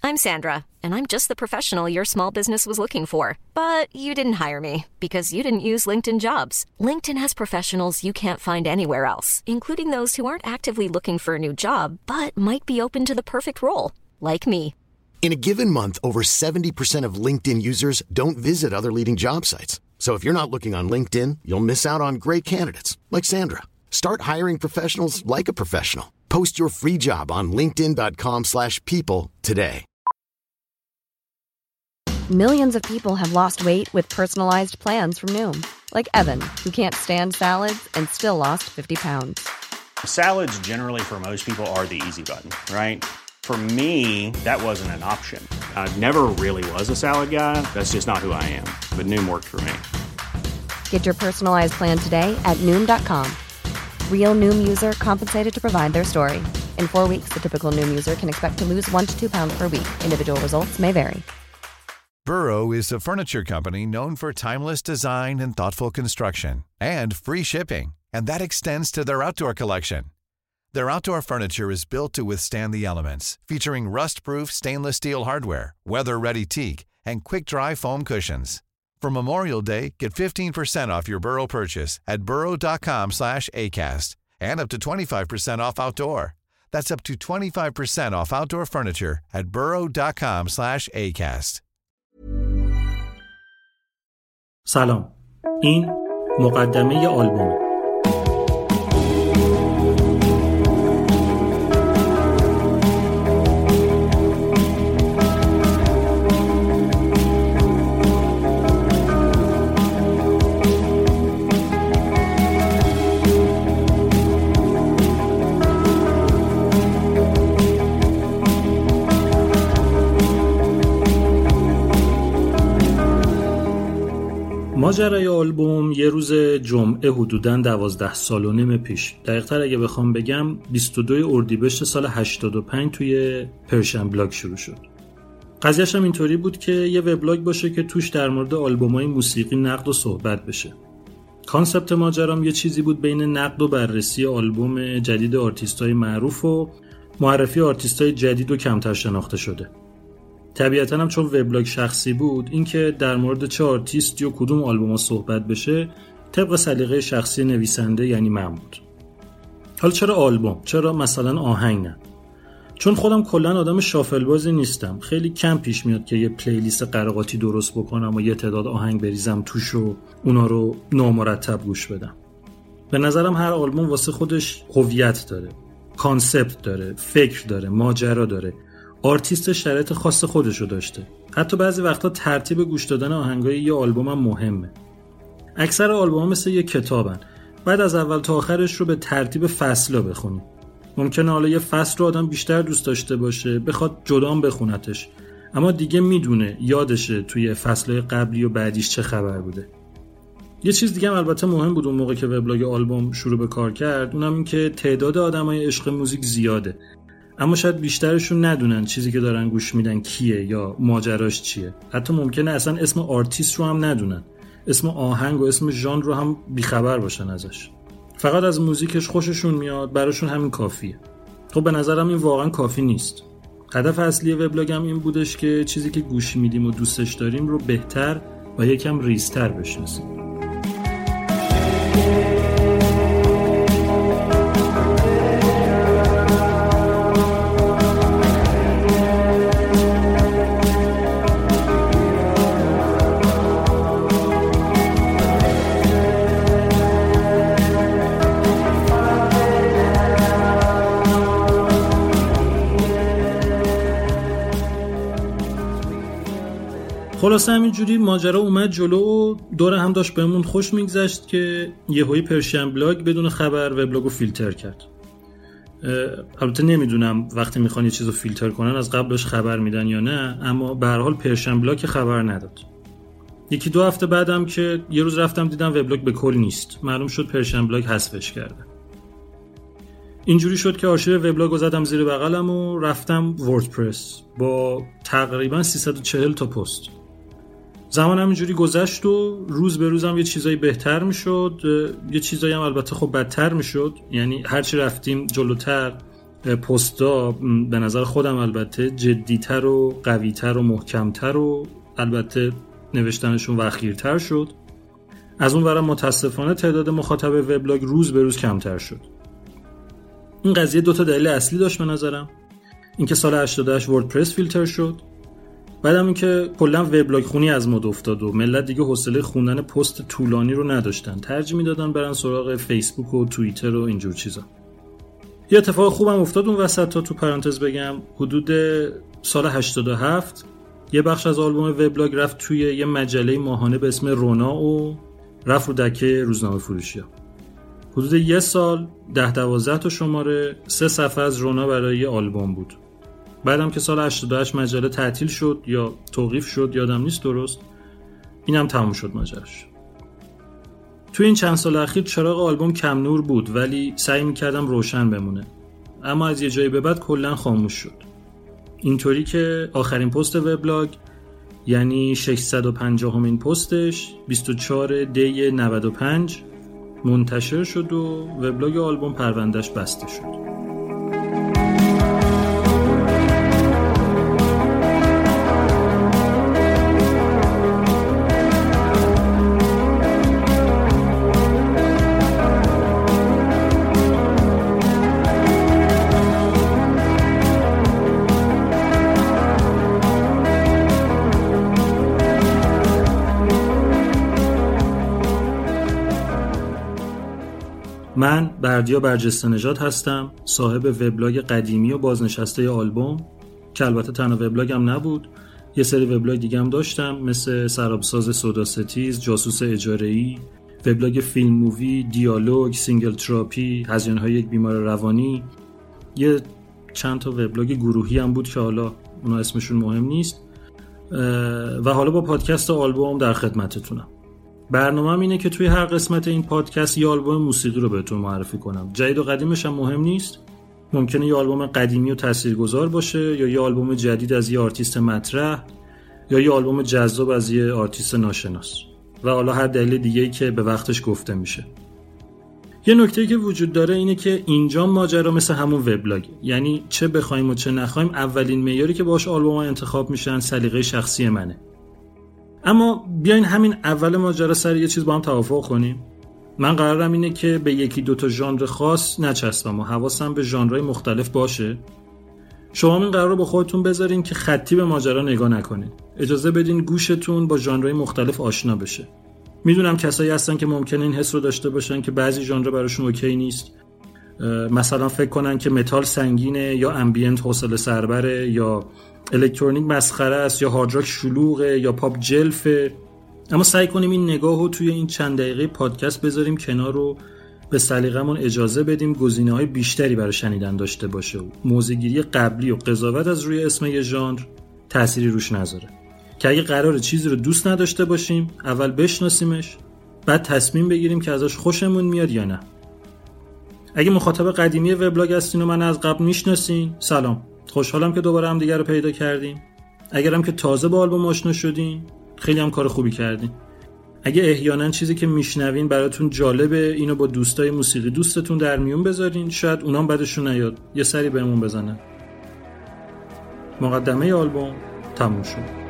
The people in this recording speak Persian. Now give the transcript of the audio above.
I'm Sandra, and I'm just the professional your small business was looking for. But you didn't hire me because you didn't use LinkedIn Jobs. LinkedIn has professionals you can't find anywhere else, including those who aren't actively looking for a new job, but might be open to the perfect role, like me. In a given month, over 70% of LinkedIn users don't visit other leading job sites. So if you're not looking on LinkedIn, you'll miss out on great candidates like Sandra. Start hiring professionals like a professional. Post your free job on linkedin.com/people today. Millions of people have lost weight with personalized plans from Noom. Like Evan, who can't stand salads and still lost 50 pounds. Salads generally for most people are the easy button, right? For me, that wasn't an option. I never really was a salad guy. That's just not who I am. But Noom worked for me. Get your personalized plan today at Noom.com. Real Noom user compensated to provide their story. In 4 weeks, the typical Noom user can expect to lose 1 to 2 pounds per week. Individual results may vary. Burrow is a furniture company known for timeless design and thoughtful construction, and free shipping, and that extends to their outdoor collection. Their outdoor furniture is built to withstand the elements, featuring rust-proof stainless steel hardware, weather-ready teak, and quick-dry foam cushions. For Memorial Day, get 15% off your Burrow purchase at burrow.com/acast, and up to 25% off outdoor. That's up to 25% off outdoor furniture at burrow.com/acast. سلام. این مقدمه آلبومه. ماجرای آلبوم یه روز جمعه حدوداً 12 سال و نیم پیش، دقیق‌تر اگه بخوام بگم 22 اردیبهشت سال 85 توی پرشن بلاگ شروع شد. قضیه‌ش هم اینطوری بود که یه وبلاگ باشه که توش در مورد آلبوم‌های موسیقی نقد و صحبت بشه. کانسپت ماجرام یه چیزی بود بین نقد و بررسی آلبوم جدید آرتیست‌های معروف و معرفی آرتیست‌های جدید و کمتر شناخته شده. طبیعتاً هم چون وبلاگ شخصی بود، اینکه در مورد چه آرتیستی و کدوم آلبوم‌ها صحبت بشه طبق سلیقه شخصی نویسنده یعنی من بود. حالا چرا آلبوم؟ چرا مثلا آهنگ نه؟ چون خودم کلاً آدم شافل بازی نیستم. خیلی کم پیش میاد که یه پلیلیست قراقاتی درست بکنم و یه تعداد آهنگ بریزم توش و اونا رو نامرتب گوش بدم. به نظرم هر آلبوم واسه خودش هویت داره، کانسپت داره، فکر داره، ماجرا داره. آرتیست شرایط خاص خودشو داشته. حتی بعضی وقتا ترتیب گوش دادن آهنگای یه آلبوم هم مهمه. اکثر آلبوم‌ها مثل یه کتابن. بعد از اول تا آخرش رو به ترتیب فصلا بخونی. ممکنه حالا یه فصل رو آدم بیشتر دوست داشته باشه، بخواد جدام بخونتش. اما دیگه میدونه، یادشه توی فصل‌های قبلی و بعدیش چه خبر بوده. یه چیز دیگه هم البته مهم بود اون موقع که وبلاگ آلبوم شروع به کار کرد، اونم این که تعداد آدمای عشق موزیک زیاده. اما شاید بیشترشون ندونن چیزی که دارن گوش میدن کیه یا ماجراش چیه. حتی ممکنه اصلا اسم آرتیست رو هم ندونن، اسم آهنگ و اسم ژانر رو هم بیخبر باشن ازش. فقط از موزیکش خوششون میاد، براشون همین کافیه. خب به نظرم این واقعا کافی نیست. هدف اصلی وبلاگم این بودش که چیزی که گوش میدیم و دوستش داریم رو بهتر و یکم ریزتر بشناسیم. خلاصه همینجوری ماجرا اومد جلو و دور هم داشت بهمون خوش میگذشت که یهویی پرشن بلاگ بدون خبر وبلاگو فیلتر کرد. البته نمیدونم وقتی میخوان یه چیزو فیلتر کنن از قبلش خبر میدن یا نه، اما به هر حال پرشن بلاگ خبر نداد. یکی دو هفته بعدم که یه روز رفتم دیدم وبلاگ به کل نیست. معلوم شد پرشن بلاگ حذفش کرده. اینجوری شد که آرشیو وبلاگو زدم زیر بغلم و رفتم وردپرس با تقریبا 340 تا پست. زمان همینجوری گذشت و روز به روزم یه چیزایی بهتر میشد، یه چیزایی هم البته خب بدتر میشد. یعنی هرچی رفتیم جلوتر پستا به نظر خودم البته جدی‌تر و قوی‌تر و محکم‌تر و البته نوشتنشون وخیرتر شد. از اون ورم متاسفانه تعداد مخاطب وبلاگ روز به روز کمتر شد. این قضیه 2 تا دلیل اصلی داشت به نظرم. اینکه سال 88 وردپرس فیلتر شد، بعدم اینکه کلا وبلاگ خونی از مد افتاد و ملت دیگه حوصله خوندن پست طولانی رو نداشتن، ترجیح میدادن برن سراغ فیسبوک و توییتر و اینجور چیزا. یه اتفاق خوبم افتاد اون وسط تا تو پرانتز بگم. حدود سال 87 یه بخش از آلبوم وبلاگ رفت توی یه مجله ماهانه به اسم رونا و رفت رو دکه روزنامه فروشی‌ها. حدود یه سال 10-12 تا شماره 3 صفحه از رونا برای یه آلبوم بود. بعدم که سال 88 مجله تعطیل شد یا توقیف شد یادم نیست درست، اینم تموم شد ماجراش. توی این چند سال اخیر چراغ آلبوم کم نور بود ولی سعی می‌کردم روشن بمونه، اما از یه جایی به بعد کلاً خاموش شد. اینطوری که آخرین پست وبلاگ یعنی 650مین پستش 24 دی 95 منتشر شد و وبلاگ آلبوم پروندهش بسته شد. من بردیا برجسته نژاد هستم، صاحب وبلاگ قدیمی و بازنشسته آلبوم که البته تنها وبلاگم نبود، یه سری وبلاگ دیگه هم داشتم مثل سرابساز سودا ستیز، جاسوس اجاره‌ای، وبلاگ فیلم مووی، دیالوگ، سینگل تراپی، هزینه‌های یک بیمار روانی، یه چند تا وبلاگ گروهی هم بود که حالا اونا اسمشون مهم نیست و حالا با پادکست آلبوم در خدمتتونم. برنامه‌م اینه که توی هر قسمت این پادکست یه آلبوم موسیقی رو بهتون معرفی کنم. جدید و قدیمش هم مهم نیست. ممکنه یه آلبوم قدیمی و تاثیرگذار باشه یا یه آلبوم جدید از یه آرتیست مطرح یا یه آلبوم جذاب از یه آرتیست ناشناس و حالا هر دلیل دیگه‌ای که به وقتش گفته میشه. یه نکته‌ای که وجود داره اینه که اینجا ماجرا مثل همون وبلاگ، یعنی چه بخوایم و چه نخوایم اولین معیاری که باهاش آلبوم‌ها انتخاب میشن سلیقه شخصی منه. اما بیاین همین اول ماجرا سر یه چیز با هم توافق کنیم. من قرارم اینه که به 1-2 تا ژانر خاص نچسبم و حواسم به ژانرهای مختلف باشه. شما این قرار رو با خودتون بذارین که خطی به ماجرا نگاه نکنین. اجازه بدین گوشتون با ژانرهای مختلف آشنا بشه. میدونم کسایی هستن که ممکنه این حس رو داشته باشن که بعضی ژانر براشون اوکی نیست. مثلا فکر کنن که متال سنگینه یا امبینت حوصله سربره یا الکترونیک مسخره است یا هارد راک شلوغه یا پاپ جلفه. اما سعی کنیم این نگاهو توی این چند دقیقه پادکست بذاریم کنار رو به سلیقه‌مون اجازه بدیم گزینه‌های بیشتری برای شنیدن داشته باشه و موضوع‌گیری قبلی و قضاوت از روی اسم یه ژانر تأثیری روش نذاره. که اگه قراره چیزی رو دوست نداشته باشیم اول بشناسیمش بعد تصمیم بگیریم که ازش خوشمون میاد یا نه. اگه مخاطب قدیمی وبلاگ هستین و من از قبل میشناسین، سلام. خوشحالم که دوباره هم دیگه رو پیدا کردیم. اگرم که تازه با آلبوم آشنا شدین، خیلی هم کار خوبی کردین. اگه احیانا چیزی که میشنوین براتون جالبه، اینو با دوستای موسیقی دوستتون در میون بذارین، شاید اونام بعدشون نیاد یه سری بهمون بزنن. مقدمه آلبوم تموم شد.